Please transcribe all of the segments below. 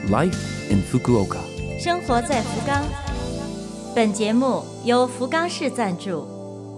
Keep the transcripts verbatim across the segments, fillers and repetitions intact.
Life in Fukuoka， 生活在福冈。本节目由福冈市赞助。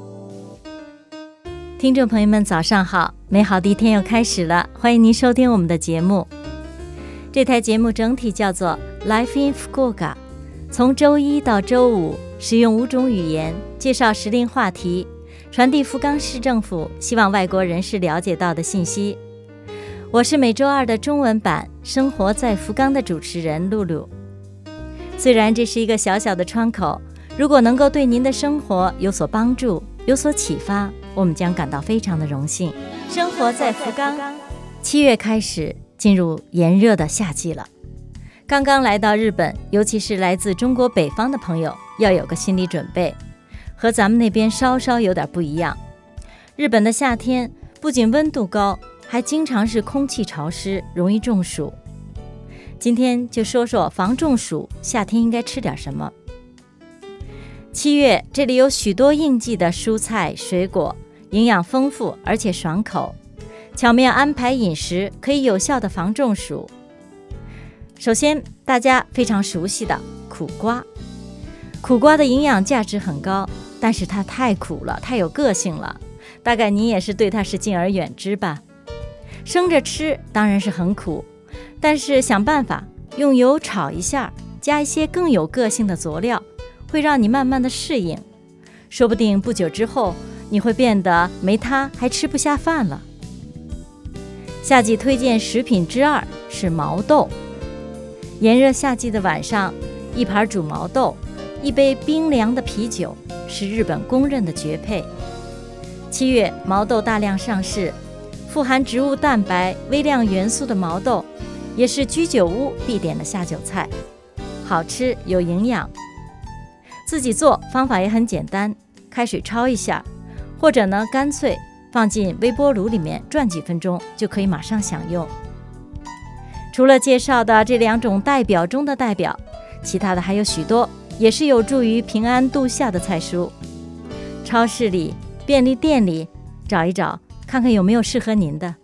听众朋友们早上好，美好的一天又开始了，欢迎您收听我们的节目。这台节目整体叫做 Life in Fukuoka， 从周一到周五使用五种语言介绍时令话题，传递福冈市政府希望外国人士了解到的信息。我是每周二的中文版生活在福冈的主持人露露。虽然这是一个小小的窗口，如果能够对您的生活有所帮助，有所启发，我们将感到非常的荣幸。生活在福冈，七月开始进入炎热的夏季了。刚刚来到日本，尤其是来自中国北方的朋友，要有个心理准备，和咱们那边稍稍有点不一样。日本的夏天不仅温度高，还经常是空气潮湿，容易中暑。今天就说说防中暑，夏天应该吃点什么。七月这里有许多应季的蔬菜水果，营养丰富而且爽口，巧妙安排饮食可以有效的防中暑。首先大家非常熟悉的苦瓜，苦瓜的营养价值很高，但是它太苦了，太有个性了，大概你也是对它是敬而远之吧。生着吃当然是很苦，但是想办法用油炒一下，加一些更有个性的佐料，会让你慢慢的适应，说不定不久之后你会变得没它还吃不下饭了。夏季推荐食品之二是毛豆。炎热夏季的晚上，一盘煮毛豆，一杯冰凉的啤酒，是日本公认的绝配。七月毛豆大量上市，富含植物蛋白、微量元素的毛豆也是居酒屋必点的下酒菜，好吃有营养。自己做方法也很简单，开水焯一下，或者呢干脆放进微波炉里面转几分钟，就可以马上享用。除了介绍的这两种代表中的代表，其他的还有许多，也是有助于平安度夏的菜蔬。超市里、便利店里找一找，看看有没有适合您的。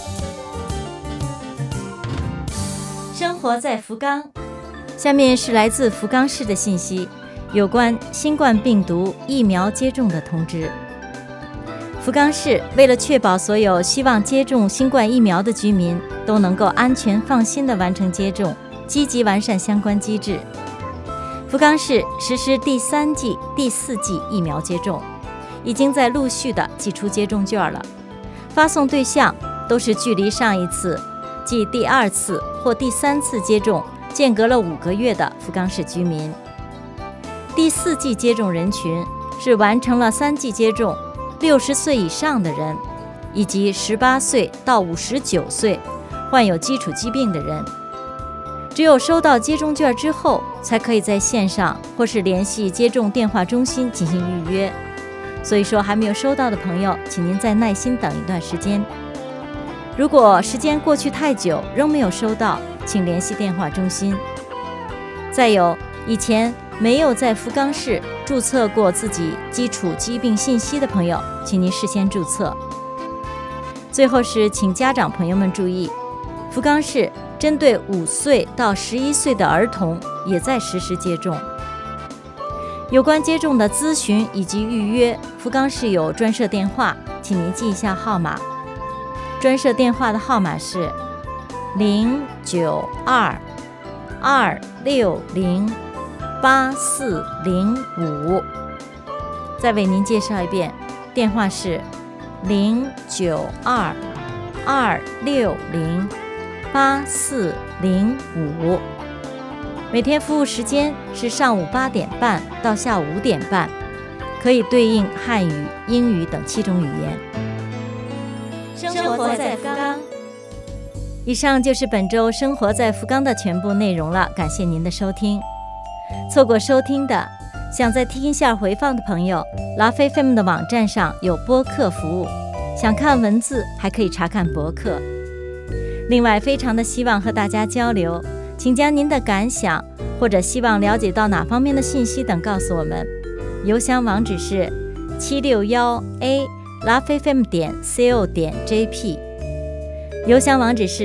生活在福冈，下面是来自福冈市的信息，有关新冠病毒疫苗接种的通知。福冈市为了确保所有希望接种新冠疫苗的居民都能够安全放心地完成接种，积极完善相关机制。福冈市实施第三剂、第四剂疫苗接种，已经在陆续地寄出接种券了。发送对象都是距离上一次即第二次或第三次接种间隔了五个月的福冈市居民。第四剂接种人群是完成了三剂接种六十岁以上的人，以及十八岁到五十九岁患有基础疾病的人。只有收到接种券之后，才可以在线上或是联系接种电话中心进行预约。所以说还没有收到的朋友，请您再耐心等一段时间。如果时间过去太久仍没有收到，请联系电话中心。再有，以前没有在福冈市注册过自己基础疾病信息的朋友，请您事先注册。最后是请家长朋友们注意，福冈市针对五岁到十一岁的儿童也在实施接种。有关接种的咨询以及预约，福冈市有专设电话，请您记一下号码。专设电话的号码是零九二二六零八四零五。再为您介绍一遍，电话是零九二二六零八四零五。每天服务时间是上午八点半到下午五点半，可以对应汉语、英语等七种语言。生活在福冈。以上就是本周生活在福冈的全部内容了，感谢您的收听。错过收听的，想再听一下回放的朋友， Love F M 的网站上有播客服务，想看文字还可以查看博客。另外非常的希望和大家交流，请将您的感想或者希望了解到哪方面的信息等告诉我们。邮箱网址是七六一 a love f m 点 co 点 j p， 邮箱网址是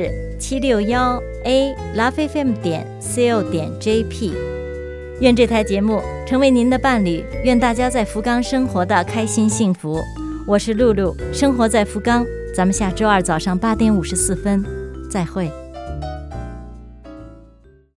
七六一 a love f m 点 co 点 j p。 愿这台节目成为您的伴侣，愿大家在福冈生活的开心幸福。我是露露，生活在福冈，咱们下周二早上八点五十四分再会。